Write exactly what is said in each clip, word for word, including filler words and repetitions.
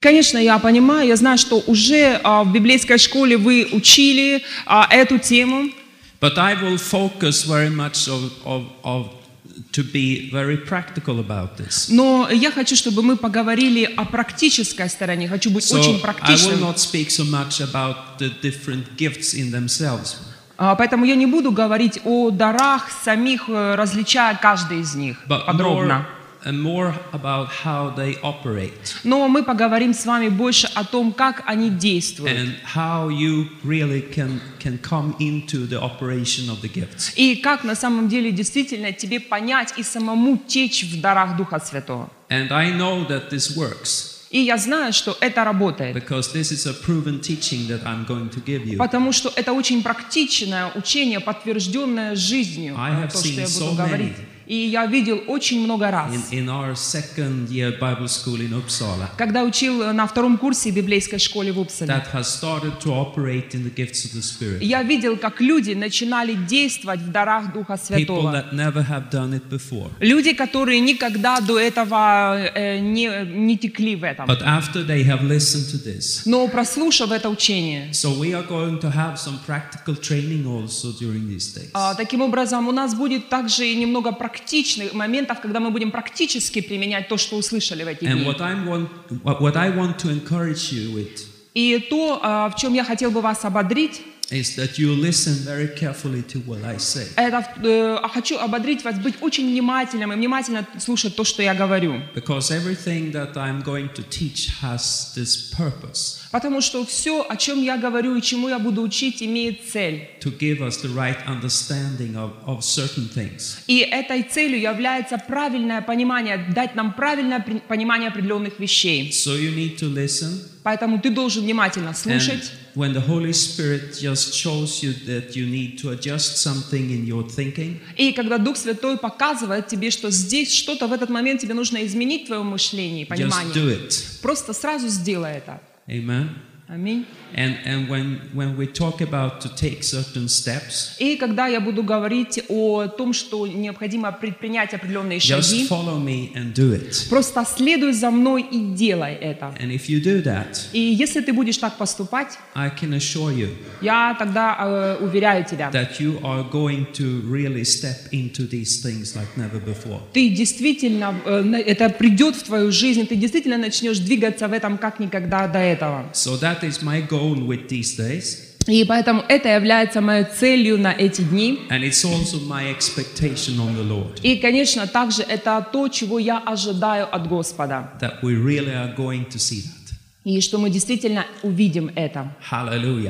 Конечно, я понимаю, я знаю, что уже а, в библейской школе вы учили а, эту тему. But I will focus very much of, of, of to be very practical about this. Но я хочу, чтобы мы поговорили о практической стороне. Хочу быть So очень I will практичным. not speak so much about the different gifts in themselves. А, Поэтому я не буду говорить о дарах самих, э, различая каждый из них But подробно. more, and more about how they operate Но мы поговорим с вами больше о том, как они действуют. and how you really can can come into the operation of the gifts. И как на самом деле действительно тебе понять и самому течь в дарах Духа Святого. And I know that this works И я знаю, что это работает. because this is a proven teaching that I'm going to give you. Потому что это очень практичное учение, подтвержденное жизнью, I have то, что seen я so буду говорить. many. И я видел очень много раз. In, in our second year Bible school in Uppsala, Когда учил на втором курсе библейской школе в Упсале, that has started to operate in the gifts of the Spirit. я видел, как люди начинали действовать в дарах Духа People Святого. that never have done it before. Люди, которые никогда до этого э, не, не текли в этом. But after they have listened to this, Но прослушав это учение, so we are going to have some practical training also during these days. а, таким образом у нас будет также и немного практичных моментов, когда мы будем практически применять то, что услышали в эти And дни. what I want, what, what I want to encourage you with И то, а, в чем я хотел бы вас ободрить, is that you listen very carefully to what I say. это э, хочу ободрить вас быть очень внимательным и внимательно слушать то, что я говорю. Because everything that I'm going to teach has this purpose Потому что все, о чем я говорю и чему я буду учить, имеет цель. to give us the right understanding of, of certain things. И этой целью является правильное понимание, дать нам правильное при- понимание определенных вещей. So you need to listen. Поэтому ты должен внимательно And слушать. when the Holy Spirit just shows you that you need to adjust something in your thinking, И когда Дух Святой показывает тебе, что здесь что-то в этот момент тебе нужно изменить в твоем мышлении, just понимании, do it. просто сразу сделай это. Amen. Аминь. And and when when we talk about to take certain steps, И когда я буду говорить о том, что необходимо предпринять определенные just шаги, follow me and do it. просто следуй за мной и делай это. And if you do that, И если ты будешь так поступать, I can assure you я тогда э, уверяю тебя, that you are going to really step into these things like never before. ты действительно, э, на- это придет в твою жизнь, ты действительно начнешь двигаться в этом как никогда до этого. So that is my goal with these days, И поэтому это является моей целью на эти дни. and it's also my expectation on the Lord И, конечно, также это то, чего я ожидаю от Господа. that we really are going to see that. И что мы действительно увидим это. Hallelujah.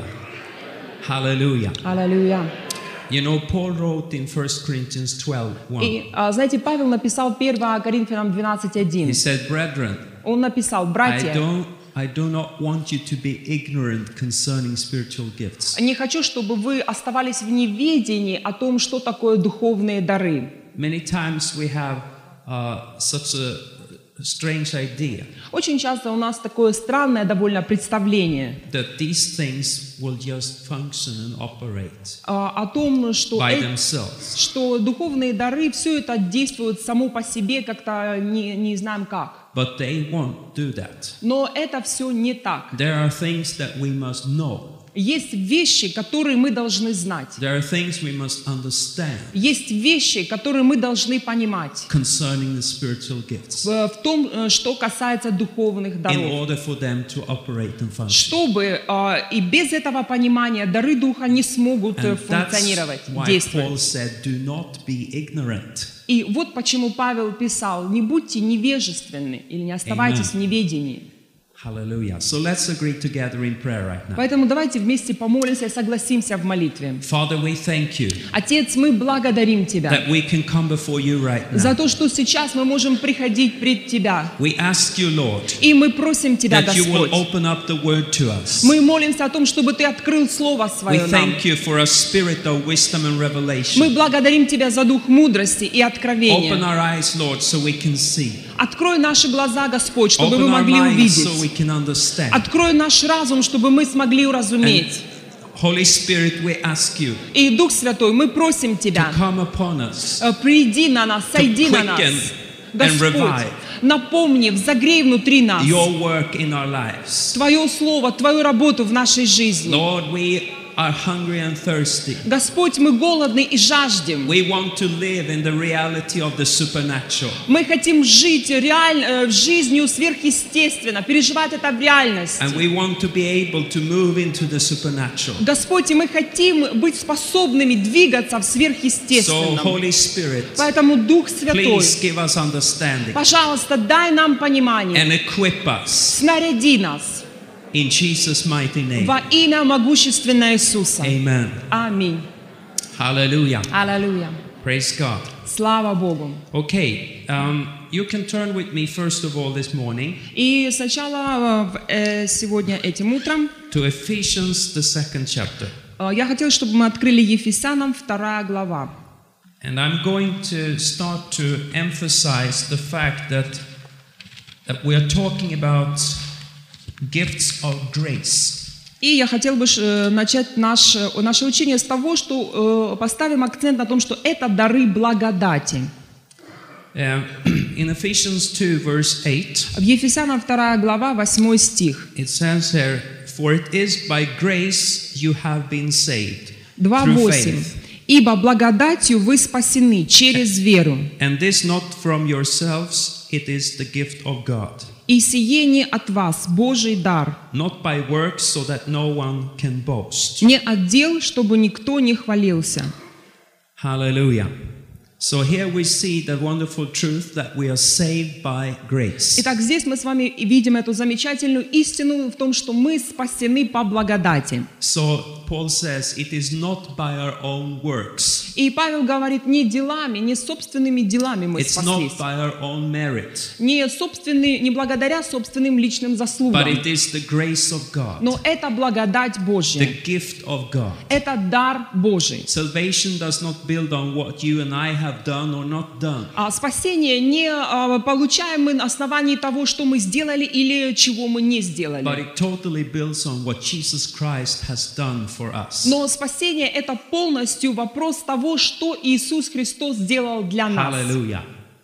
Hallelujah. Аллилуйя. You know, Paul wrote in First Corinthians twelve one. И, а, знаете, Павел написал первое Коринфянам двенадцать He один. said, "Brethren, Он написал: I братья, don't I do not want you to be ignorant concerning spiritual gifts." не хочу, чтобы вы оставались в неведении о том, что такое духовные дары. Many times we have uh, such a strange idea Очень часто у нас такое странное довольно представление that these things will just function and operate а, о том, что, by э- themselves. что духовные дары, все это действует само по себе, как-то не, не знаем как. But they won't do that. Но это все не так. There are things that we must know. Есть вещи, которые мы должны знать. There are things we must understand Есть вещи, которые мы должны понимать concerning the spiritual gifts в в том, э, что касается духовных in даров. order for them to operate and function. Чтобы э, и без этого понимания дары Духа не смогут э, And that's функционировать, why Paul действовать. said, "Do not be ignorant." И вот почему Павел писал: не будьте невежественны или не оставайтесь в неведении. Hallelujah. So let's agree together in prayer right now. Поэтому давайте вместе помолимся и согласимся в молитве. Father, we thank you Отец, мы благодарим Тебя that we can come before you right за now. то, что сейчас мы можем приходить пред Тебя. We ask you, Lord, И мы просим Тебя, that you will Господь. open up the word to us. Мы молимся о том, чтобы Ты открыл Слово We Свое нам. thank you for a spirit of wisdom and Мы revelation. благодарим Тебя за дух мудрости и Open откровения. our eyes, Lord, so we can see. Открой наши глаза, Господь, чтобы Open мы our могли minds so we увидеть. can understand. Открой наш разум, чтобы мы смогли уразуметь. Holy Spirit, we ask you И, Дух Святой, мы просим to Тебя, come upon us, э, приди на нас, сойди на нас, quicken and Господь, revive напомни, взогрей внутри нас your work in our lives. Твое Слово, Твою работу в нашей жизни. Lord, we are hungry and thirsty. Господь, мы голодны и жаждем. We want to live in the reality of the supernatural. Мы хотим жить реаль... жизнью сверхъестественно, переживать это в реальности. And we want to be able to move into the supernatural. Господь, и мы хотим быть способными двигаться в So, сверхъестественном. Holy Spirit, Поэтому Дух Святой, please give us understanding пожалуйста, дай нам понимание, and equip us снаряди нас in Jesus' mighty name. во имя могущественное Иисуса. Amen. Аминь. Hallelujah. Аллилуйя. Praise God. Слава Богу. Okay, um, you can turn with me first of all this morning И сначала э, сегодня этим утром to Ephesians, the second chapter. э, я хотела, чтобы мы открыли Ефесянам вторая глава. And I'm going to start to emphasize the fact that, that we are talking about gifts of grace. И я хотела бы э, начать наше, наше учение с того, что э, поставим акцент на том, что это дары благодати. Uh, in Ephesians two, verse eight, В Ефесянам вторая глава, восьмой стих. it says here, "For it is by grace you have been saved два through восемь. faith, «Ибо благодатью вы спасены через веру, and this not from yourselves, it is the gift of God, и сие не от вас, Божий дар, not by works, so that no one can boast." не от дел, чтобы никто не хвалился». Hallelujah. So here we see the wonderful truth that we are saved by grace. Итак, здесь мы с вами видим эту замечательную истину в том, что мы спасены по благодати. So Paul says it is not by our own works. И Павел говорит, не делами, не собственными делами мы It's спаслись. not by our own merit, Не, собственный, не благодаря собственным личным but заслугам. it is the grace of God, Но это благодать the Божья. gift of God. Это дар Божий. Salvation does not build on what you and I have done or not done. А спасение не а, получаем мы на основании того, что мы сделали или чего мы не But сделали. it totally builds on what Jesus Christ has done for us. Но спасение — это полностью вопрос того, что Иисус Христос сделал для нас. Hallelujah.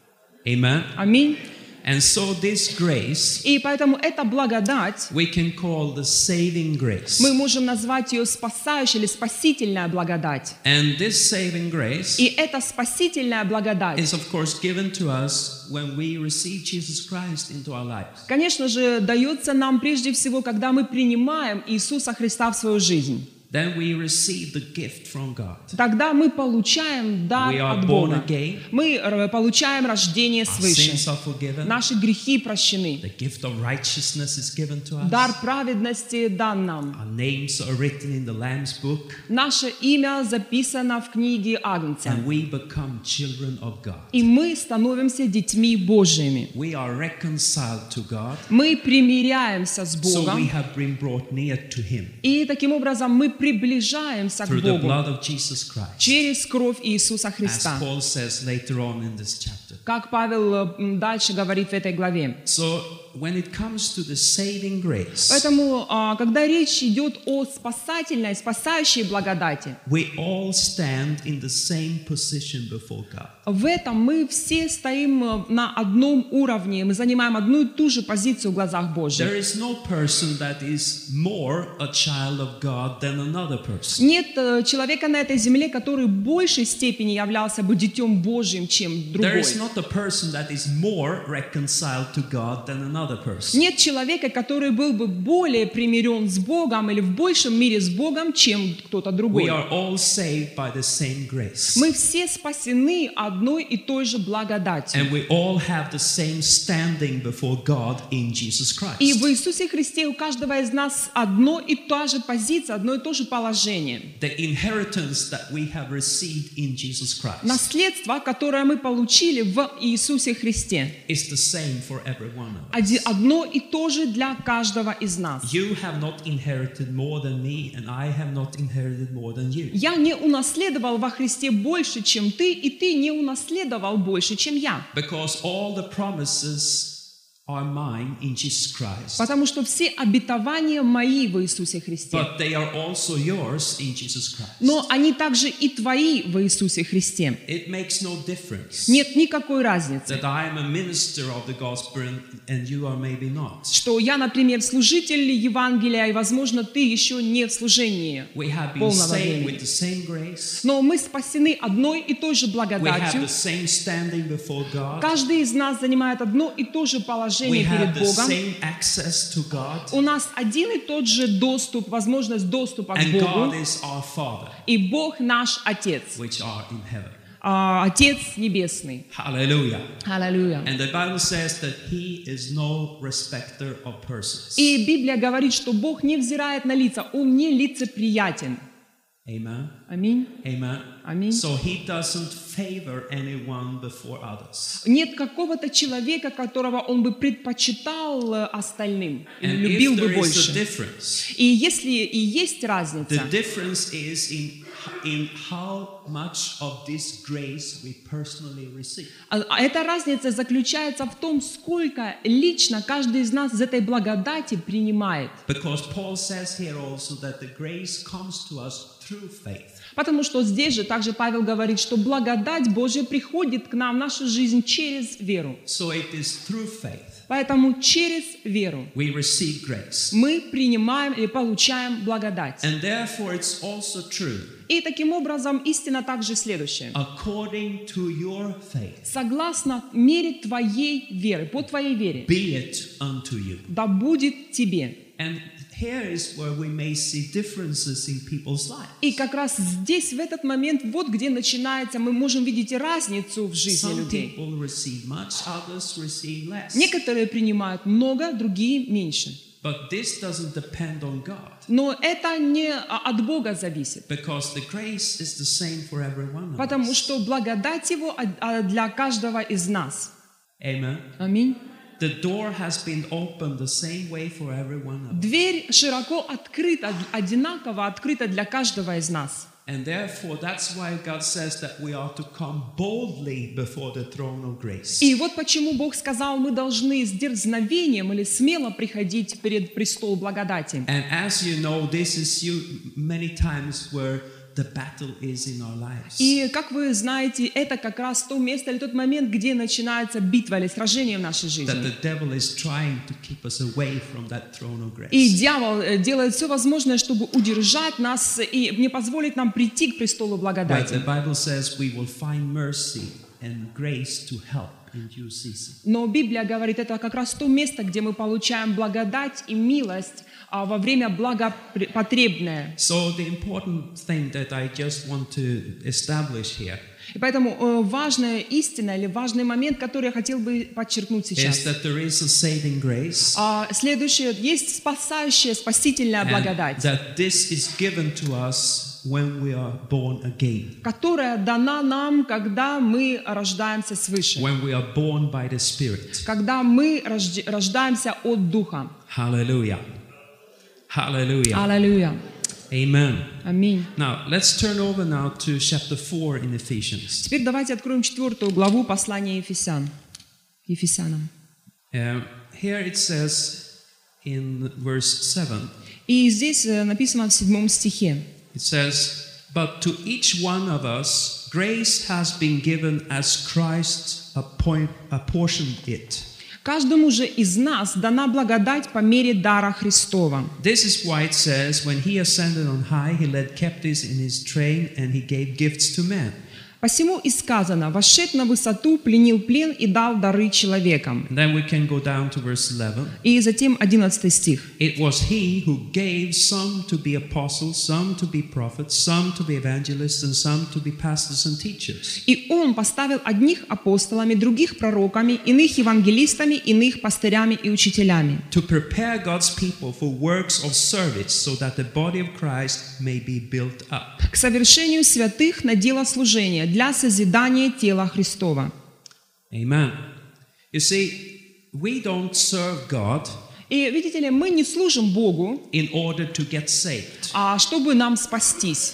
Amen. Аминь. And so this grace И поэтому эта благодать, we can call the saving grace. мы можем назвать ее спасающей или спасительная благодать. And this saving grace И эта спасительная благодать, is of course given to us when we receive Jesus Christ into our lives. конечно же, дается нам прежде всего, когда мы принимаем Иисуса Христа в свою жизнь. Then we receive the gift from God. Тогда мы получаем дар We are от born Бога. again. Мы э, получаем рождение Our свыше. sins are forgiven. Наши грехи прощены. The gift of righteousness is given to us. Дар праведности дан нам. Our names are written in the Lamb's book, Наше имя записано в книге Агнца. and we become children of God. И мы становимся детьми Божьими. We are reconciled to God, Мы примиряемся с so we Богом. have been brought near to Him И таким образом мы приближаемся к through the Богу blood of Jesus Christ, через кровь Иисуса as Христа. Paul says later on in this chapter. Как Павел э, м, дальше говорит в этой главе. So when it comes to the saving grace, Поэтому, а, когда речь идет о спасательной, спасающей благодати, we all stand in the same position before God. в этом мы все стоим э, на одном уровне, мы занимаем одну и ту же позицию в глазах Божьих. There is no person that is more a child of God than another person. Нет э, человека на этой земле, который в большей степени являлся бы детем Божьим, чем There другой. is not a person that is more reconciled to God than another person. Нет человека, который был бы более примирен с Богом или в большем мире с Богом, чем кто-то We другой. are all saved by the same grace. Мы все спасены одной и той же благодатью. And we all have the same standing before God in Jesus И Christ. в Иисусе Христе у каждого из нас одно и та же позиция, одно и то же положение. The inheritance that we have received in Jesus Christ Наследство, которое мы получили в Иисусе Христе, is the same for every one of us. оди- одно и то же для каждого из нас. You have not inherited more than me, and I have not inherited more than you. Я не унаследовал во Христе больше, чем ты, и ты не унаследовал больше, чем я. Because all the promises are mine in Jesus Christ, Потому что все обетования мои в Иисусе Христе. but they are also yours in Jesus Christ. Но они также и твои в Иисусе Христе. It makes no difference Нет никакой разницы, that I am a minister of the gospel and, and you are maybe not. что я, например, служитель Евангелия, и, возможно, ты еще не в служении We have been полного saved времени. with the same grace. Но мы спасены одной и той же We have благодатью. the same standing before God. Каждый из нас занимает одно и то же положение We have перед the Богом. same access to God. У нас один и тот же доступ, возможность доступа к And God Богу. is our Father, И Бог наш Отец, which are in heaven. а, Отец Небесный. Hallelujah. Аллилуйя. And the Bible says that He is no respecter of persons. И Библия говорит, что Бог не взирает на лица, Он не лицеприятен. Amen. Аминь. Amen. Аминь. So He doesn't favor anyone before others. Нет какого-то человека, которого Он бы предпочитал э, остальным, или And любил if бы there is a больше. difference, И если и есть разница, the difference is in in how much of this grace we personally receive. а- а эта разница заключается в том, сколько лично каждый из нас из этой благодати принимает. Because Paul says here also that the grace comes to us through faith. Потому что здесь же также Павел говорит, что благодать Божья приходит к нам в нашу жизнь через веру. So it is through faith Поэтому через веру we receive grace. мы принимаем или получаем благодать. And therefore it's also true, И таким образом истина также следующая. according to your faith, Согласно мере твоей веры, по твоей вере, be it unto you. да будет тебе. And here is where we may see differences in people's lives. И как раз здесь, в этот момент, вот где начинается, мы можем видеть разницу в жизни Some людей. people receive much, others receive less. Некоторые принимают много, другие меньше. But this doesn't depend on God, Но это не а, от Бога зависит. because the grace is the same for every one of Потому us. что благодать Его а- а для каждого из нас. Amen. Аминь. The door has been opened the same way for every one of us. Дверь широко открыта, одинаково открыта для каждого из нас. And therefore, that's why God says that we are to come boldly before the throne of grace. И вот почему Бог сказал, мы должны с дерзновением или смело приходить перед престол благодати. And as you know, this is you many times where the battle is in our lives. И, как вы знаете, это как раз то место или тот момент, где начинается битва или сражение в нашей That жизни. the devil is trying to keep us away from that throne of И grace. дьявол э, делает все возможное, чтобы удержать нас и не позволить нам прийти к престолу But благодати. the Bible says we will find mercy and grace to help in due season. Но Библия говорит, это как раз то место, где мы получаем благодать и милость а, во время благопотребное. So the important thing that I just want to establish here И поэтому э, важная истина или важный момент, который я хотел бы подчеркнуть is сейчас. that there is a saving grace, А, следующее, есть спасающая, спасительная and благодать, that this is given to us when we are born again, которая дана нам, когда мы рождаемся свыше, when we are born by the Spirit. когда мы рожде- рождаемся от Духа. Hallelujah. Hallelujah. Аллилуйя. Amen. Аминь. Now, let's turn over now to chapter four in Ephesians. Теперь давайте откроем четвертую главу послания Ефесян. Ефесянам. Um, here it says in verse seven, И здесь э, написано в седьмом стихе. it says, "But to each one of us grace has been given as Christ appoint, apportioned it." Каждому же из нас дана благодать по мере дара Христова. This is why it says, "When he ascended on high, he led captives in his train, and he gave gifts to men." Посему и сказано, вошед на высоту, пленил плен и дал дары человекам. And then we can go down to verse eleven. И затем одиннадцатый стих. It was he who gave some to be apostles, some to be prophets, some to be evangelists, and some to be pastors and teachers. И он поставил одних апостолами, других пророками, иных евангелистами, иных пастырями и учителями, To prepare God's people for works of service, so that the body of Christ may be built up. к совершению святых на дело служения, для созидания тела Христова. Amen. You see, we don't serve God И видите ли, мы не служим Богу, in order to get saved. а чтобы нам спастись.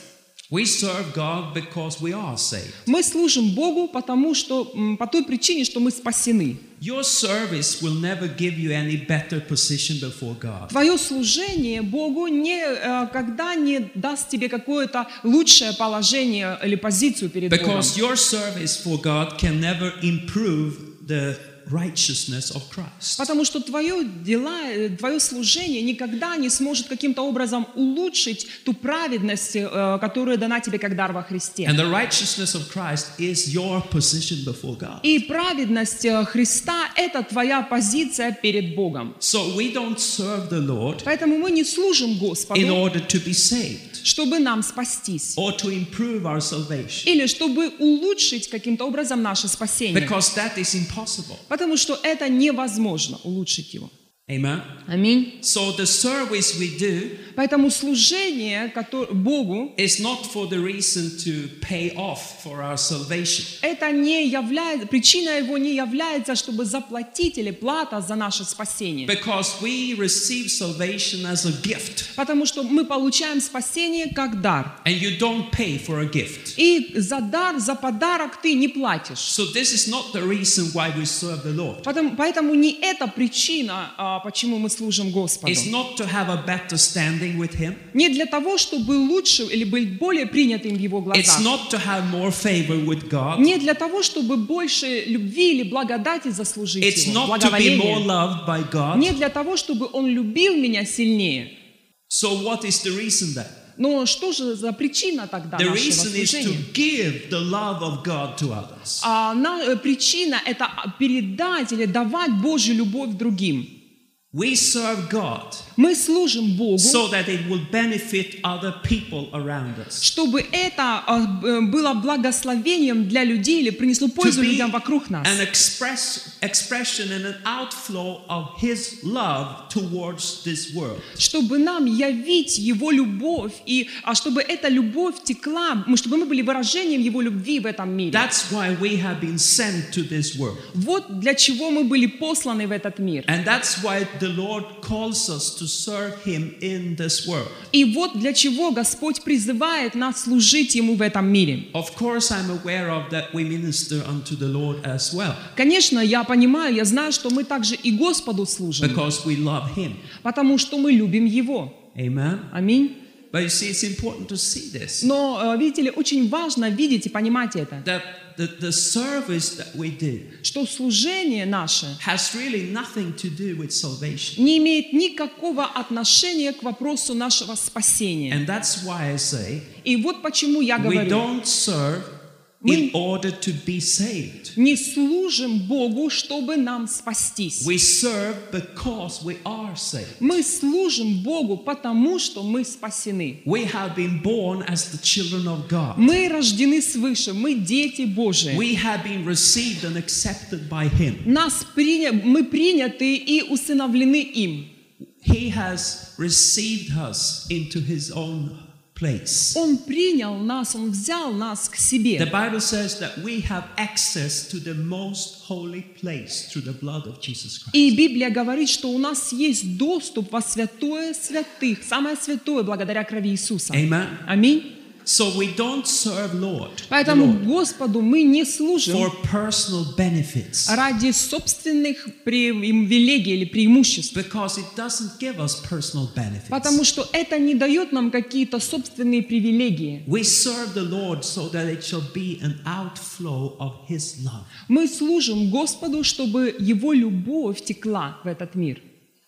We serve God because we are saved. Мы служим Богу, потому что, м, по той причине, что мы спасены. Your service will never give you any better position before God. Твое служение Богу никогда не даст тебе какое-то лучшее положение или позицию перед Богом. Because your service for God can never improve the righteousness of Christ. Потому что твое дела, твое служение никогда не сможет каким-то образом улучшить ту праведность, э, которая дана тебе как дар во Христе. And the righteousness of Christ is your position before God. И праведность э, Христа – это твоя позиция перед Богом. So we don't serve the Lord Поэтому мы не служим in Господу, order to be saved чтобы нам спастись, or to improve our salvation, или чтобы улучшить каким-то образом наше спасение. because that is impossible. Потому что это невозможно улучшить его. Amen. Аминь. So the service we do Поэтому служение которое, Богу is not for the reason to pay off for our salvation. это не является, причина его не является, чтобы заплатить или плата за наше спасение. Because we receive salvation as a gift. Потому что мы получаем спасение как дар. And you don't pay for a gift. И за дар, за подарок ты не платишь. So this is not the reason why we serve the Lord. Поэтому, поэтому не это причина, а, почему мы служим Господу. It's not to have a better standing with Him. Не для того, чтобы быть лучше или быть более принятым в Его It's глазах. not to have more favor with God. Не для того, чтобы больше любви или благодати заслужить It's Его, not to be more благоволения. loved by God. Не для того, чтобы Он любил меня сильнее. So what is the reason then? Но что же за причина тогда The нашего reason is to служения? give the love of God to others. А на- э, причина – это передать или давать Божью любовь другим. We serve God Мы служим Богу, so that it will benefit other people around us. чтобы это а, э, было благословением для людей или принесло To пользу be людям вокруг нас. an express, expression and an outflow of His love towards this world. Чтобы нам явить Его любовь, и, а чтобы эта любовь текла, мы- чтобы мы были выражением Его любви в этом мире. That's why we have been sent to this world. Вот для чего мы были посланы в этот мир. And that's why the Lord calls us to serve Him in this world. И вот для чего Господь призывает нас служить Ему в этом мире. Of course, I'm aware of that we minister unto the Lord as well, Конечно, я понимаю, я знаю, что мы также и Господу служим, because we love Him. потому что мы любим Его. Amen. Аминь. But you see, it's important to see this. Но, э, видите ли, очень важно видеть и понимать это, That the, the service that we do что служение наше has really nothing to do with salvation. не имеет никакого отношения к вопросу нашего спасения. And that's why I say И вот почему я we говорю, don't serve in order to be saved. не служим Богу, чтобы нам спастись. We serve because we are saved. Мы служим Богу, потому что мы спасены. We have been born as the children of God. Мы рождены свыше, мы дети Божии. We have been received and accepted by Him. Нас приня... Мы приняты и усыновлены им. He has received us into His own place. Он принял нас, Он взял нас к The себе. Bible says that we have access to the most holy place through the blood of Jesus Christ. И Библия говорит, что у нас есть доступ во святое святых, самое святое, благодаря крови Иисуса. Amen. Аминь. So we don't serve Lord, the Поэтому Lord Господу мы не служим for personal benefits, ради собственных привилегий или преимуществ. because it doesn't give us personal benefits. Потому что это не дает нам какие-то собственные привилегии. We serve the Lord so that it shall be an outflow of His love. Мы служим Господу, чтобы Его любовь текла в этот мир.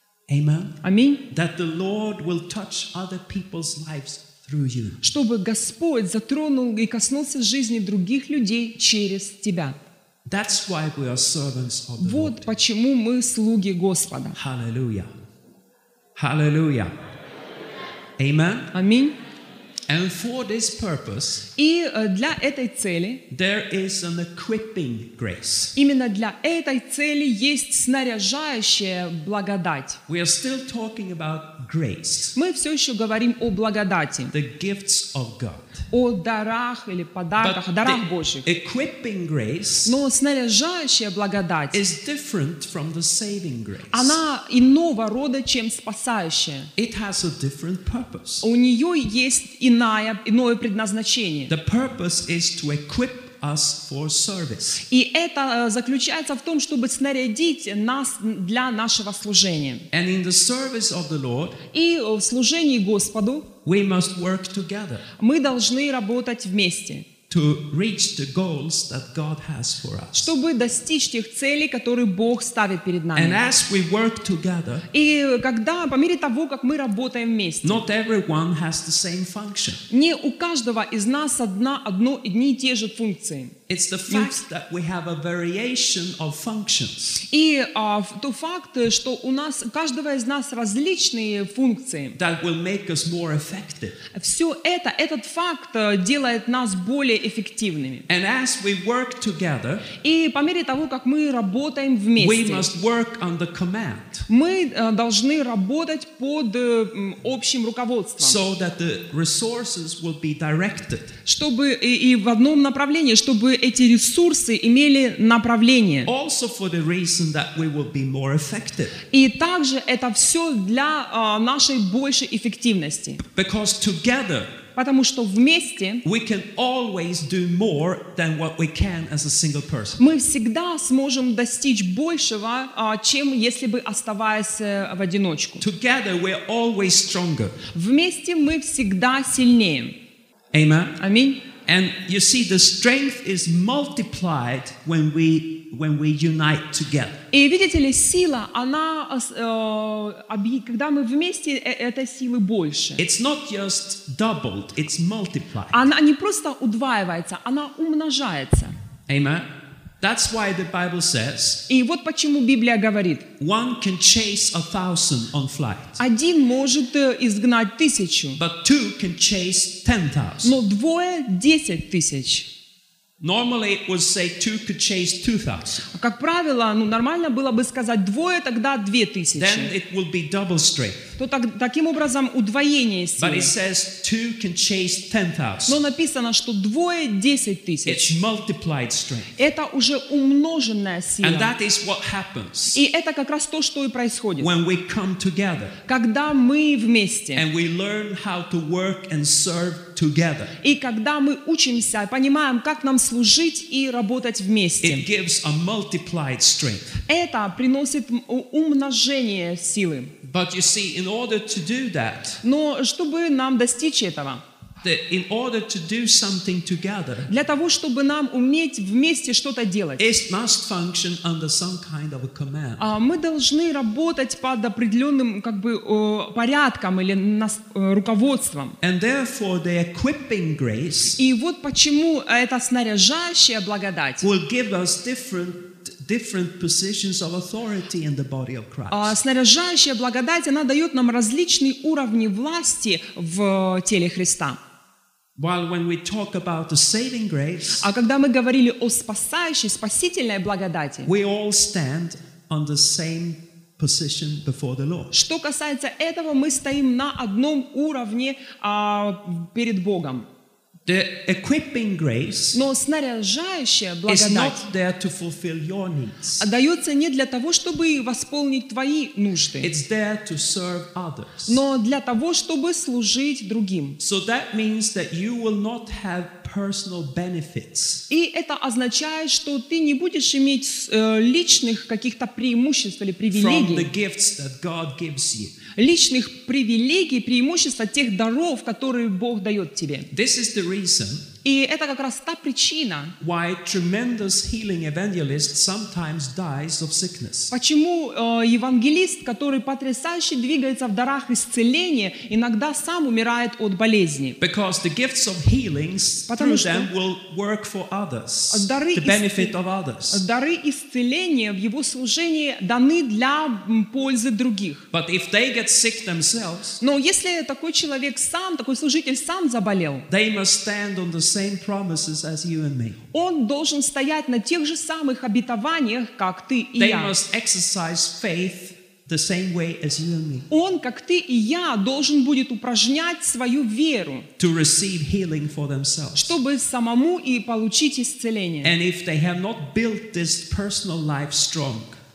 Amen. Аминь. That the Lord will touch other people's lives through you. Чтобы Господь затронул и коснулся жизни других людей через тебя. That's why we are servants of the Вот Lord. почему мы слуги Господа. Hallelujah. Hallelujah. Amen. Аминь. And for this purpose, И э, для этой цели, there is an equipping grace. именно для этой цели есть снаряжающая благодать. We are still talking about grace, Мы все еще говорим о благодати, the gifts of God. о дарах или подарках, о дарах Божьих. the equipping grace Но снаряжающая благодать, is different from the saving grace. она иного рода, чем спасающая. It has a different purpose. У нее есть иная иная, иное предназначение. The purpose is to equip us for service. И это э, заключается в том, чтобы снарядить нас для нашего служения. And in the service of the Lord, И в служении Господу we must work together мы должны работать вместе, to reach the goals that God has for us. чтобы достичь тех целей, которые Бог ставит перед And нами. as we work together, И когда, по мере того, как мы работаем вместе, not everyone has the same function. не у каждого из нас одна, одно, одни и те же функции. It's the fact that we have a variation of functions И а, в- тот факт, что у нас, у каждого из нас различные функции, that will make us more effective. все это, этот факт э, делает нас более эффективными. And as we work together, И по мере того, как мы работаем we вместе, must work under command мы э, должны работать под э, м, общим руководством, so that the resources will be directed. чтобы и, и в одном направлении, чтобы эти ресурсы имели направление. Also for the reason that we will be more effective. И также это все для а, нашей большей эффективности. Because together Потому что вместе we can always do more than what we can as a single person. мы всегда сможем достичь большего, а, чем если бы оставаясь э, в одиночку. Together we're always stronger. Вместе мы всегда сильнее. Amen. Аминь. And you see, the strength is multiplied when we when we unite together. И видите ли, сила, она, э, объ- когда мы вместе, э, этой силы больше. It's not just doubled; it's multiplied. Она не просто удваивается, она умножается. Amen. That's why the Bible says И вот почему Библия говорит, one can chase a thousand on flight, один может э, изгнать тысячу, but two can chase ten thousand. но двое — десять тысяч. Normally, it would say two could chase two thousand. Как правило, ну, нормально было бы сказать двое, тогда две Then тысячи. it will be double strength. То так- таким образом удвоение But силы. it says two can chase ten Но thousand. написано, что двое — десять тысяч. It's multiplied strength. Это уже умноженная And сила. that is what happens И это как раз то, что и происходит. when we come together Когда мы вместе, and we learn how to work and serve together. и когда мы учимся, понимаем, как нам служить и работать It вместе, gives a multiplied strength. это приносит м- у- умножение силы. But you see, in order to do that, Но чтобы нам достичь этого, the, in order to do something together, для того, чтобы нам уметь вместе что-то делать, it must function under some kind of a command. а, мы должны работать под определенным как бы э, порядком или нас- э, руководством. And therefore, the equipping grace И вот почему эта снаряжающая благодать, will give us different different positions of authority in the body of Christ. а, снаряжающая благодать, она дает нам различные уровни власти в теле Христа. While when we talk about the saving grace, А когда мы говорили о спасающей, спасительной благодати, we all stand on the same position before the Lord. что касается этого, мы стоим на одном уровне а, перед Богом. The equipping grace Но снаряжающая is благодать not there to fulfill your needs. дается не для того, чтобы восполнить твои нужды, It's there to serve others. но для того, чтобы служить другим. So that means that you will not have personal benefits И это означает, что ты не будешь иметь э, личных каких-то преимуществ или from the привилегий, gifts that God gives you. личных привилегий, преимуществ от тех даров, которые Бог дает тебе. This is the reason И это как раз та причина, why tremendous healing evangelist sometimes dies of sickness. почему э, евангелист, который потрясающе двигается в дарах исцеления, иногда сам умирает от болезни. Because the gifts of healings Потому through что them will work for others, дары the benefit исцел- of others. Дары исцеления в его служении даны для м, пользы других. But if they get sick themselves, Но если такой человек сам, такой служитель сам заболел, they must stand on the same promises as you and me. он должен стоять на тех же самых обетованиях, как ты и They я. must exercise faith the same way as you and me Он, как ты и я, должен будет упражнять свою веру, to receive healing for themselves. чтобы самому и получить исцеление. And if they have not built this personal life strong,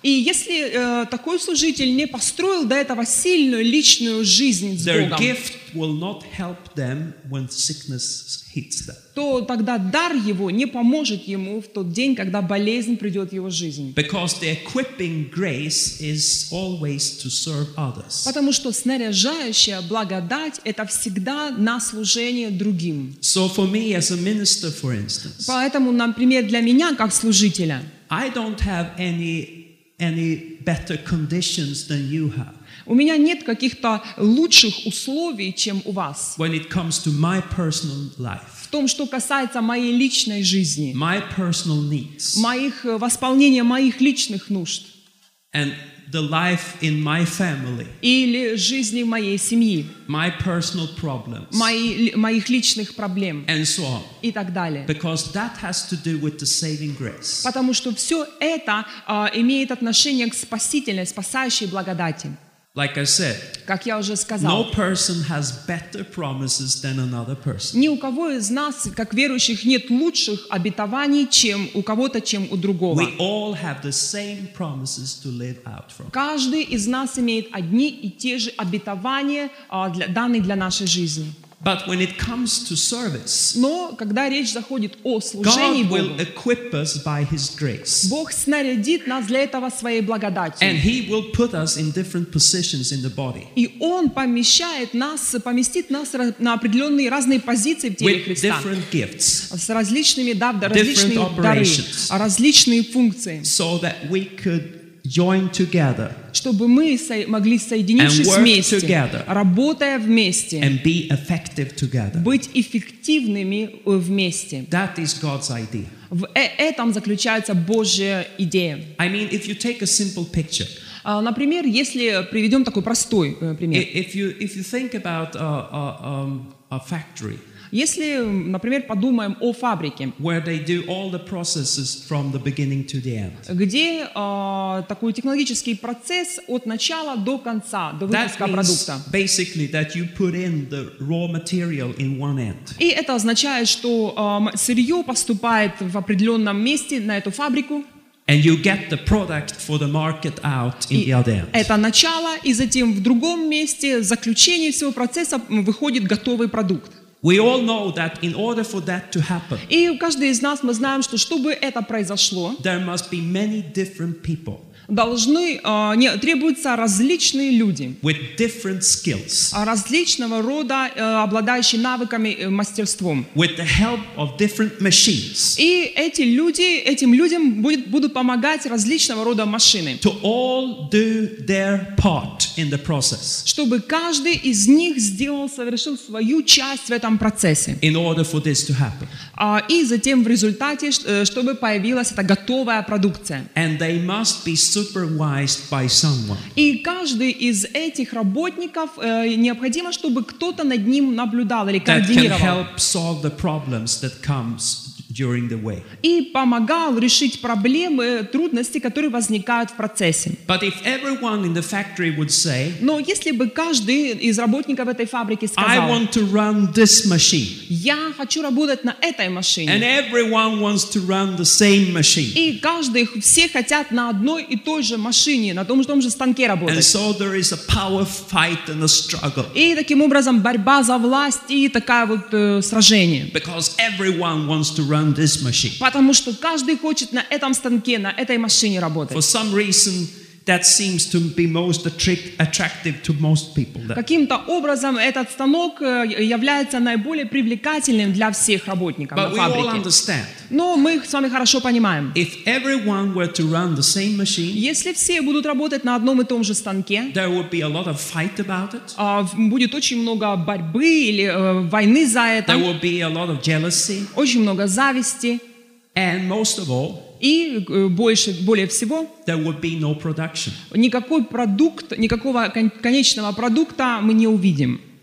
И если э, такой служитель не построил до этого сильную личную жизнь с their Богом, gift will not help them when sickness hits them. то тогда дар его не поможет ему в тот день, когда болезнь придет в его жизнь. Because the equipping grace is always to serve others. Потому что снаряжающая благодать – это всегда на служение другим. So for me as a minister, for instance, Поэтому, например, для меня, как служителя, I don't have any any better conditions than you have у меня нет каких-то лучших условий, чем у вас. when it comes to my personal life, В том, что касается моей личной жизни, my personal needs, моих, восполнения моих личных нужд and the life in my family, или жизни моей семьи, my personal problems, мои, моих личных проблем and so on. и так далее. Because that has to do with the saving grace. Потому что все это а, имеет отношение к спасительной, спасающей благодати. Like I said, Как я уже сказал, no person has better promises than another person. ни у кого из нас, как верующих, нет лучших обетований, чем у кого-то, чем у другого. We all have the same promises to live out from. Каждый из нас имеет одни и те же обетования, а, для, данные для нашей жизни. But when it comes to service, Но когда речь заходит о служении God will Богу, equip us by His grace. Бог снарядит нас для этого своей благодатью. And He will put us in different positions in the body И Он помещает нас, поместит нас на определенные разные позиции в теле with Христа. different gifts С различными, да, различные Different дары, operations. различные функции, so that we could join together чтобы мы со- могли, соединившись And work вместе, together. работая вместе, and be effective together. быть эффективными э, вместе. That is God's idea. В э- этом заключается Божья идея. I mean, if you take a simple picture, А, Например, если приведем такой простой э, i- пример. if you if you think about a, a, um, a factory Если, например, подумаем о фабрике, where they do all the processes from the beginning to the end, где а, такой технологический процесс от начала до конца, до that выпуска means продукта. basically that you put in the raw material in one end, И это означает, что а, м- сырье поступает в определенном месте на эту фабрику, and you get the product for the market out in и the other end. это начало, и затем в другом месте, в заключении всего процесса м, выходит готовый продукт. We all know that in order for that to happen, И каждый из нас, мы знаем, что чтобы это произошло, there must be many different people должны, а, не, требуются различные люди, with different skills, а, различного рода, э, обладающие навыками, э, мастерством. with the help of different machines, И эти люди, этим людям будет, будут помогать различного рода машины, to all do their part in the process чтобы каждый из них сделал, совершил свою часть в этом процессе. in order for this to happen. А, И затем в результате, ш- э, чтобы появилась эта готовая продукция. And they must be supervised by someone. И каждый из этих работников э, необходимо, чтобы кто-то над ним наблюдал или That can координировал. help solve the problems that comes during the way. И помогал решить проблемы, трудности, которые возникают в процессе. But if everyone in the factory would say, Но если бы каждый из работников этой фабрики I сказал: want to run this machine, я хочу работать на этой and машине, everyone wants to run the same machine, и каждый, все хотят на одной и той же машине, на том же, том же станке and работать. so there is a power fight and a struggle, И таким образом борьба за власть и такое вот э, сражение. because everyone wants to run this machine. Потому что каждый хочет на этом станке, на этой машине For работать. some reason, that seems to be most attract- attractive to most people. That- Каким-то образом этот станок э, является наиболее привлекательным для всех работников But на we all фабрике. understand, Но мы с вами хорошо понимаем, if everyone were to run the same machine, если все будут работать на одном и том же станке, there would be a lot of fight about it. а, в- будет очень много борьбы или э, войны за There это, would be a lot of jealousy. очень много зависти, And most of all, и э, больше, более всего there would be no production. никакой продукт, никакого кон- конечного продукта мы не увидим.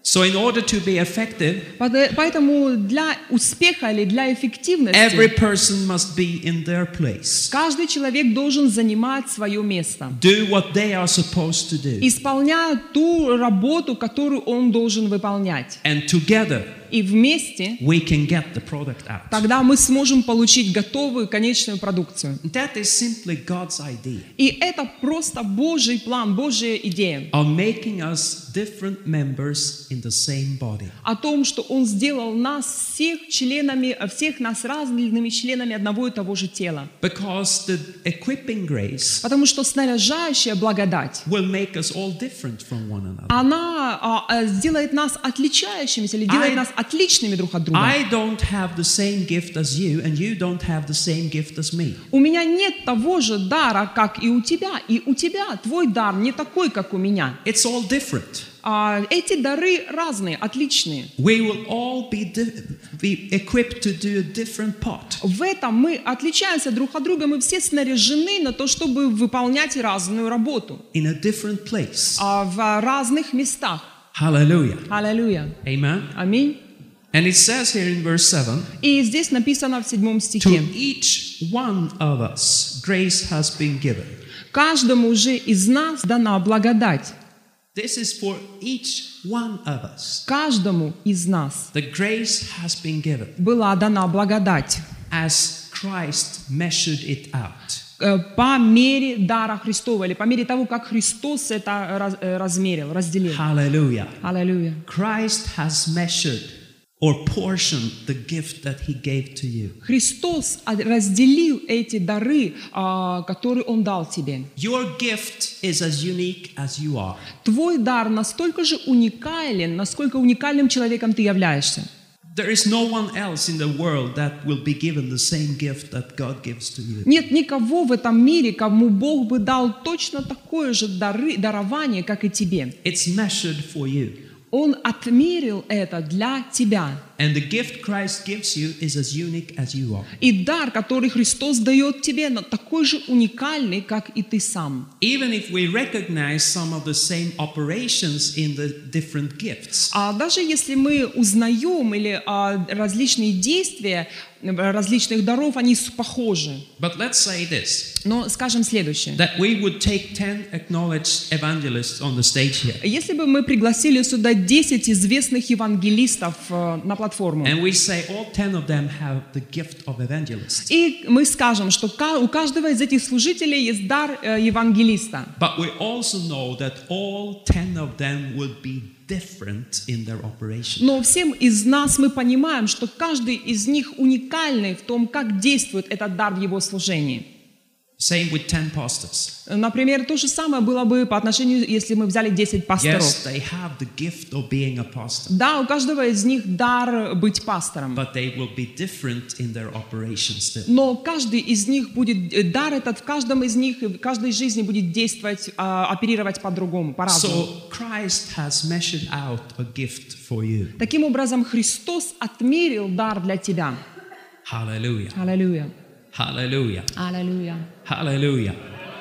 So in order to be effective, Поэтому для успеха или для every эффективности person must be in their place. каждый человек должен занимать свое место, Do what they are supposed to do. исполняя ту работу, которую он должен выполнять. And together И вместе we can get the product out. тогда мы сможем получить готовую конечную продукцию. That is simply God's idea И это просто Божий план, Божья идея of making us different members in the same body. о том, что Он сделал нас всех членами, всех нас разными членами одного и того же тела. Because the equipping grace Потому что снаряжающая благодать, will make us all different from one another. она а, а, сделает нас отличающимися или делает I- нас отличными друг от друга. I don't have the same gift as you, and you don't have the same gift as me. У меня нет того же дара, как и у тебя, и у тебя твой дар не такой, как у меня. It's all different. А, эти дары разные, отличные. We will all be, di- be equipped to do a different part. В этом мы отличаемся друг от друга, мы все снаряжены на то, чтобы выполнять разную работу In a different place. а, в разных местах. Hallelujah. Аллилуйя. Amen. Аминь. And it says here in verse seven, И здесь написано в седьмом to стихе. each one of us grace has been given. Каждому же из нас дана благодать. This is for each one of us. Каждому из нас The grace has been given была дана благодать as Christ measured it out. э, по мере дара Христова, или по мере того, как Христос это раз- э, размерил, разделил. Hallelujah. Аллилуйя. Christ has measured or portioned the gift that he gave to you. Христос от- разделил эти дары, а, которые Он дал тебе. Your gift is as unique as you are. Твой дар настолько же уникален, насколько уникальным человеком ты являешься. There is no one else in the world that will be given the same gift that God gives to you. Нет никого в этом мире, кому Бог бы дал точно такое же дары, дарование, как и тебе. It's measured for you. Он отмерил это для тебя. And the gift Christ gives you is as unique as you are. И дар, который Христос дает тебе, но такой же уникальный, как и ты сам. Even if we recognize some of the same operations in the different gifts, А даже если мы узнаем или а, различные действия различных даров, они с- похожи. but let's say this, Но скажем следующее. that we would take ten acknowledged evangelists on the stage here, Если бы мы пригласили сюда десять известных евангелистов э, на платформу, and we say all ten of them have the gift of evangelist, и мы скажем, что ка- у каждого из этих служителей есть дар э, евангелиста, but we also know that all ten of them will be different in their operation. но всем из нас мы понимаем, что каждый из них уникальный в том, как действует этот дар в его служении. Same with ten pastors. Например, то же самое было бы по отношению, если мы взяли десять пасторов. Yes, they have the gift of being a pastor, Да, у каждого из них дар быть пастором. but they will be different in their operation still. Но каждый из них будет, э, дар этот в каждом из них, и в каждой жизни будет действовать, а, оперировать по-другому, по-разному. So Christ has measured out a gift for you. Таким образом, Христос отмерил дар для тебя. Hallelujah. Аллилуйя. Hallelujah. Аллилуйя. Hallelujah.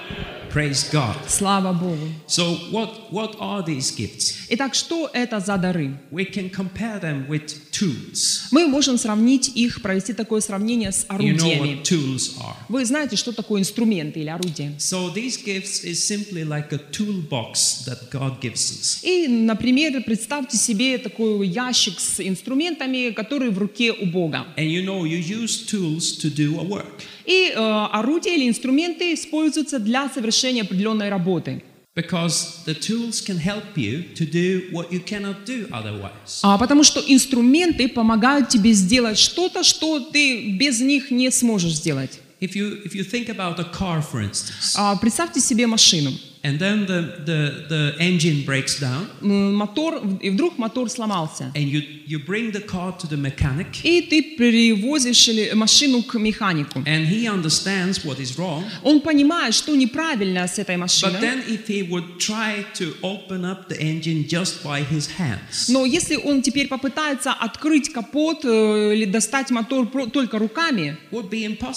Praise God. Слава Богу. So what, what are these gifts? Итак, что это за дары? We can compare them with tools. Мы можем сравнить их, провести такое сравнение с You know орудиями. what tools are. Вы знаете, что такое инструменты или орудия? So these gifts is simply like a toolbox that God gives us. И, например, представьте себе такой ящик с инструментами, которые в руке у Бога. And you know, you use tools to do a work. И э, орудия или инструменты используются для совершения определенной работы. Because the tools can help you to do what you cannot do otherwise. А, потому что инструменты помогают тебе сделать что-то, что ты без них не сможешь сделать. If you, if you think about a car, for instance, А, представьте себе машину. and then the, the, the engine breaks down, М, Мотор, и вдруг мотор сломался. and you, you bring the car to the mechanic, И ты перевозишь или- машину к механику. and he understands what is wrong. Он понимает, что неправильно с этой But машиной. then if he would try to open up the engine just by his hands, Но если он теперь попытается открыть капот э, или достать мотор про- только руками, would be impossible.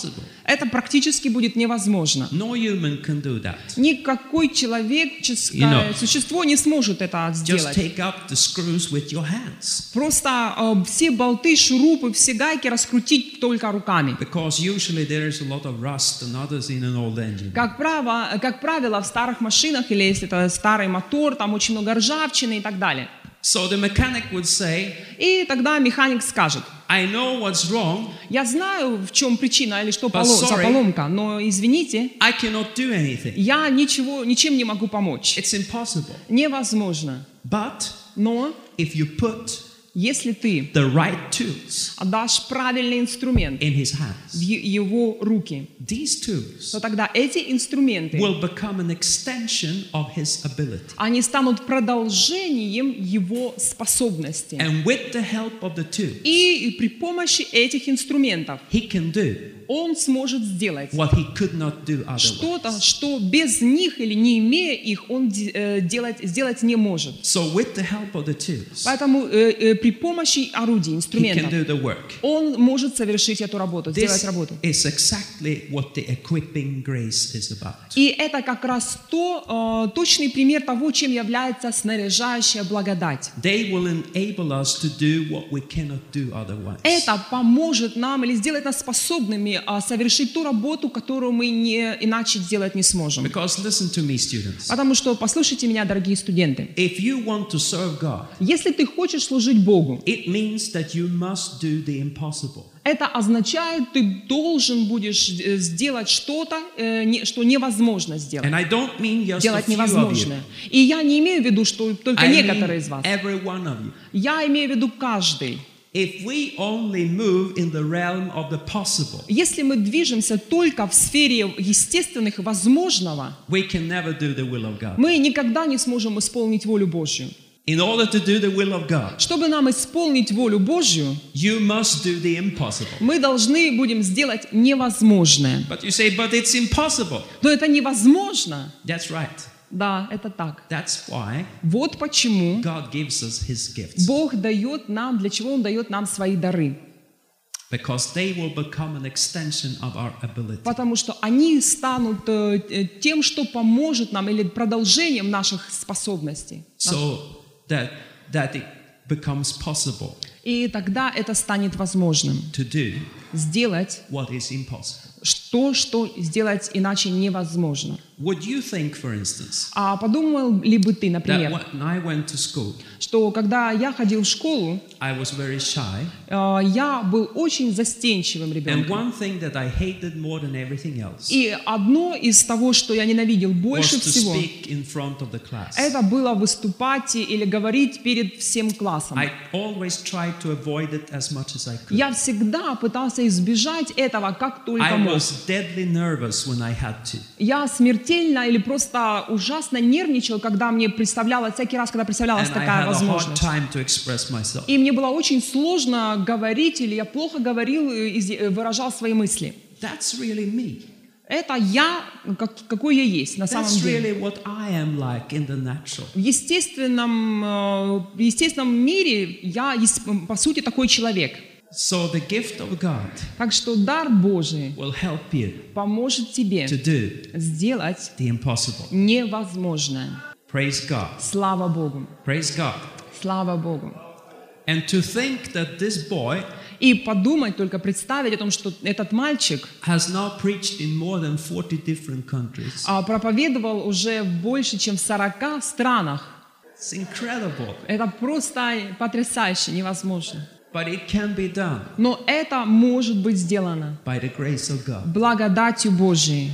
Это практически будет невозможно. No human can do that. Никакое человеческое You know, существо не сможет это Just сделать. take up the screws with your hands. Просто э, все болты, шурупы, все гайки раскрутить только руками. Because usually there is a lot of rust and others in an old engine. Как правило, как правило, в старых машинах, или если это старый мотор, там очень много ржавчины и так далее. So the mechanic would say, И тогда механик скажет: I know what's wrong, я знаю, в чем причина или что But поло- за sorry. поломка, но извините, I cannot do anything. я ничего, ничем не могу помочь. It's impossible. Невозможно. But Но if you put если ты the right tools отдашь правильный инструмент in his в hands, е- его руки, these tools то тогда эти инструменты, will become an extension of his ability. они станут продолжением его способностей. And with the help of the tools, И при помощи этих инструментов he can do он сможет сделать what he could not do что-то, otherwise. что без них или не имея их, он де- э, делать, сделать не может. So with the help of the tools, Поэтому э, э, при помощи орудий, he can инструментов, do the work. он может совершить эту работу, сделать This работу. is exactly what the equipping grace is about. И это как раз то, э, точный пример того, чем является снаряжающая благодать. They will enable us to do what we cannot do otherwise. Это поможет нам или сделает нас способными а, совершить ту работу, которую мы не, иначе сделать не сможем. Because listen to me, students. Потому что, послушайте меня, дорогие студенты, If you want to serve God, если ты хочешь служить Богу, it means that you must do the impossible. это означает, ты должен будешь э, сделать что-то, э, не- что невозможно сделать. And I don't mean just a Делать few of you. невозможное. И я не имею в виду, что только I mean некоторые из вас. every one of you. Я имею в виду каждый. If we only move in the realm of the possible, Если мы движемся только в сфере естественных возможного, we can never do the will of God. мы никогда не сможем исполнить волю Божью. In order to do the will of God, Чтобы нам исполнить волю Божью, you must do the impossible. мы должны будем сделать невозможное. But you say, but it's impossible. Но это невозможно. That's right. Да, это так. That's why Вот почему God gives us His gifts. Бог дает нам, для чего Он дает нам свои дары. Because they will become an extension of our ability. Потому что они станут э, э, тем, что поможет нам, или продолжением наших способностей. So that, that it becomes possible И тогда это станет возможным. to do Сделать what is impossible. то, что сделать иначе невозможно. Would you think, for instance, А подумал ли бы ты, that например, when I went to school, что когда я ходил в школу, I was very shy, э, я был очень застенчивым and ребенком. one thing that I hated more than everything else И одно из того, что я ненавидел was больше to всего, speak in front of the class. это было выступать или говорить перед всем классом. I always tried to avoid it as much as I could. Я всегда пытался избежать этого, как только I мог. was deadly nervous when I had to. Я смертельно или просто ужасно нервничал, когда мне представлялось, всякий раз, когда представлялась And I такая had a hard возможность. time to express myself. И мне было очень сложно говорить, или я плохо говорил и изъ- выражал свои мысли. That's really me. Это я, как- какой я есть на самом That's деле. really what I am like in the natural. В естественном, э, в естественном мире я, есть, по сути, такой человек. So the gift of God Так что дар Божий will help you поможет тебе to do сделать the impossible. невозможное. Praise God. Слава Богу! Praise God. Слава Богу! And to think that this boy И подумать, только представить о том, что этот мальчик has now preached in more than forty different countries. а, проповедовал уже в больше, чем в сорока странах. It's incredible. Это просто потрясающе, невозможно. But it can be done Но это может быть сделано by the grace of God. благодатью Божией.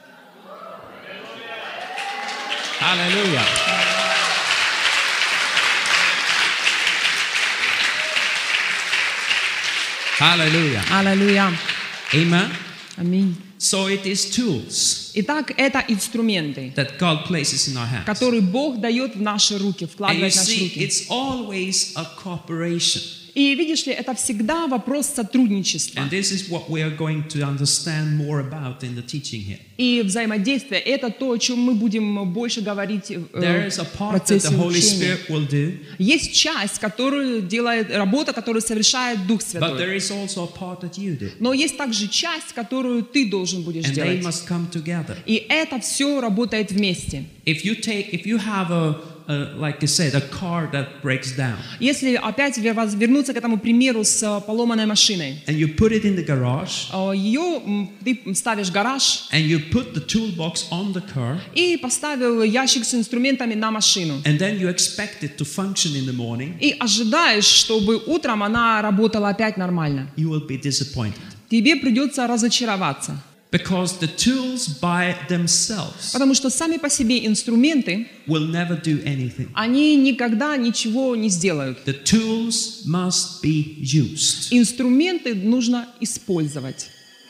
Hallelujah. Hallelujah. Аллилуйя. Amen. Аминь. So it is tools Итак, это инструменты, that God places in our hands. которые Бог дает в наши руки, And you вкладывает в наши see, руки. it's always a cooperation. И видишь ли, это всегда вопрос сотрудничества And this is what we are going to understand more about in the teaching here. и взаимодействия. Это то, о чем мы будем больше говорить There э, is a в part that процессе the Holy учения. Spirit will do, Есть часть, которую делает работа, которую совершает Дух but Святой. there is also a part that you do. Но есть также часть, которую ты должен будешь And they делать. must come together. И это все работает вместе. If you take, if you have a, a like I said, a car that breaks down, Если опять вер- воз- вернуться к этому примеру с э, поломанной машиной, and you put it in the garage, э, ее м, ты ставишь в гараж and you put the toolbox on the car, и поставил ящик с инструментами на машину. and then you expect it to function in the morning, И ожидаешь, чтобы утром она работала опять нормально. you will be disappointed. Тебе придется разочароваться. Because the tools by themselves Потому что сами по себе инструменты, will never do anything. они никогда ничего не сделают. The tools must be used. Инструменты нужно использовать.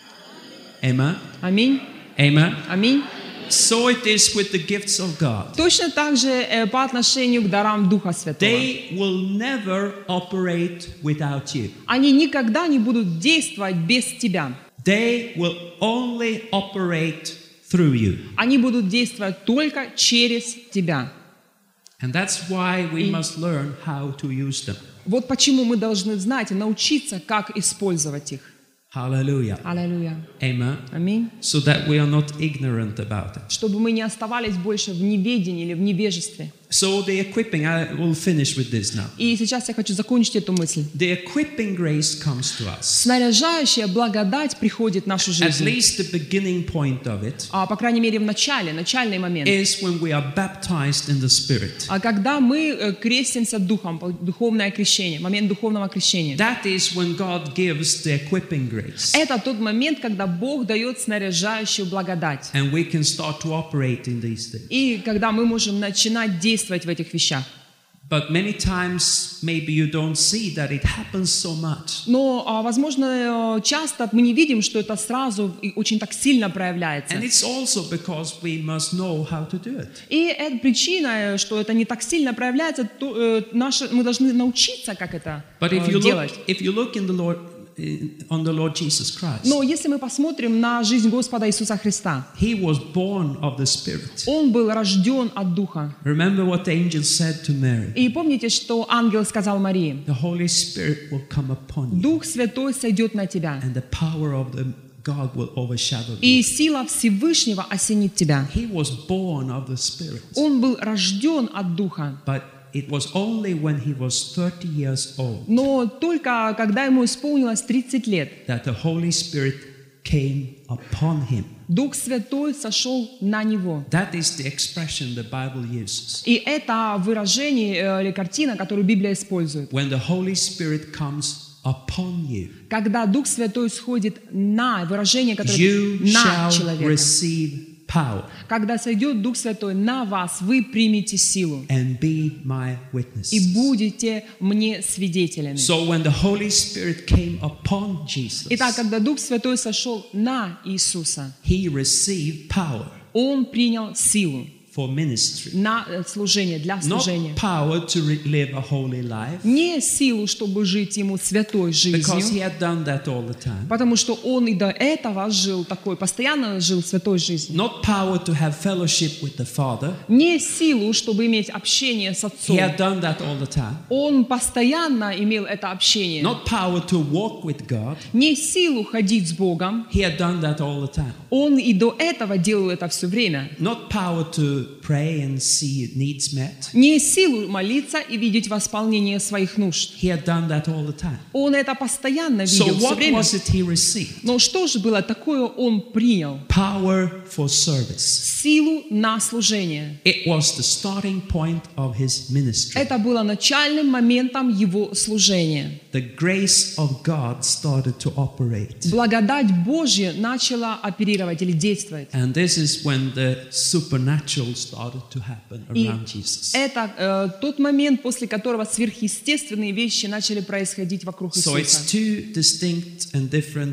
Amen. Аминь. Amen. Аминь. So it is with the gifts of God. Точно так же э, по отношению к дарам Духа Святого. They will never operate without you. Они никогда не будут действовать без тебя. They will only operate through you. Они будут действовать только через тебя. And that's why we must learn how to use them. Вот почему мы должны знать и научиться, как использовать их. Hallelujah. Аллилуйя. Amen. Аминь. So that we are not ignorant about it. Чтобы мы не оставались больше в неведении или в невежестве. So the equipping, I will finish with this now. И сейчас я хочу закончить эту мысль. The equipping grace comes to us. Снаряжающая благодать приходит в нашу At жизнь. least the beginning point of it А, по крайней мере, в начале, начальный момент. is when we are baptized in the Spirit. А когда мы э, крестимся Духом, духовное крещение, момент духовного крещения. That is when God gives the equipping grace. Это тот момент, когда Бог дает снаряжающую благодать. And we can start to operate in these things. И когда мы можем начинать действовать в этих вещах. But many times maybe you don't see that it happens so much. Но, а, возможно, э, часто мы не видим, что это сразу и очень так сильно проявляется. And it's also because we must know how to do it. И эта причина, что это не так сильно проявляется, то, э, наше, мы должны научиться, как это But if э, you делать. look, if you look in the Lord, in, on the Lord Jesus Christ, Но если мы посмотрим на жизнь Господа Иисуса Христа, He was born of the Spirit. Он был рожден от Духа. Remember what the angel said to Mary. И помните, что ангел сказал Марии: The Holy Spirit will come upon you, Дух Святой сойдет на тебя, and the power of the God will overshadow you. и сила Всевышнего осенит тебя. He was born of the Spirit, Он был рожден от Духа. but it was only when he was thirty years old Но только когда ему исполнилось тридцать лет, that the Holy Spirit came upon him. Дух Святой сошел на него. That is the expression the Bible uses. И это выражение э, или картина, которую Библия использует. When the Holy Spirit comes upon you, Когда Дух Святой сходит на выражение, которое you на shall человека. receive power Когда сойдет Дух Святой на вас, вы примете силу and be my и witnesses. будете мне свидетелями. So when the Holy Spirit came upon Jesus, Итак, когда Дух Святой сошел на Иисуса, he received power Он принял силу for ministry. на э, служение, для Not служения. power to re- live a holy life, Не силу, чтобы жить ему святой because he жизнью, had done that all the time. потому что он и до этого жил такой, постоянно жил святой жизнью. Not power to have fellowship with the Father. Не силу, чтобы иметь общение с He Отцом. had done that all the time. Он постоянно имел это общение. Not power to walk with God. Не силу ходить с Богом. He had done that all the time. Он и до этого делал это все время. Not power to pray and see needs met. Не силу молиться и видеть восполнение своих нужд. He had done that all the time. Он это постоянно So видел все what время. was it he received? Но что же было такое он принял? Power for service. Силу на служение. It was the starting point of his ministry. Это было начальным моментом его служения. The grace of God started to operate. Благодать Божья начала оперировать или действовать. And this is when the supernatural started to happen И around Jesus. это э, тот момент, после которого сверхъестественные вещи начали происходить вокруг So it's Иисуса. two distinct and different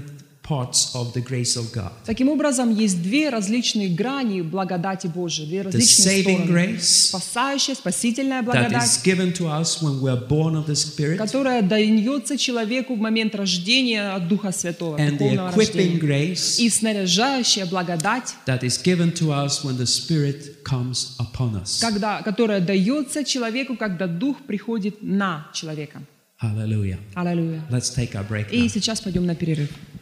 parts of the grace of God. Таким образом, есть две различные грани благодати Божией, две The различные saving стороны. grace Спасающая, спасительная that благодать, is given to us when we are born of the Spirit, которая дается человеку в момент рождения от Духа Святого, and the духовного equipping рождения. grace И снаряжающая благодать, that is given to us when the Spirit comes upon us. когда, которая дается человеку, когда Дух приходит на человека. Hallelujah. Аллилуйя. Let's take our break И now. сейчас пойдем на перерыв.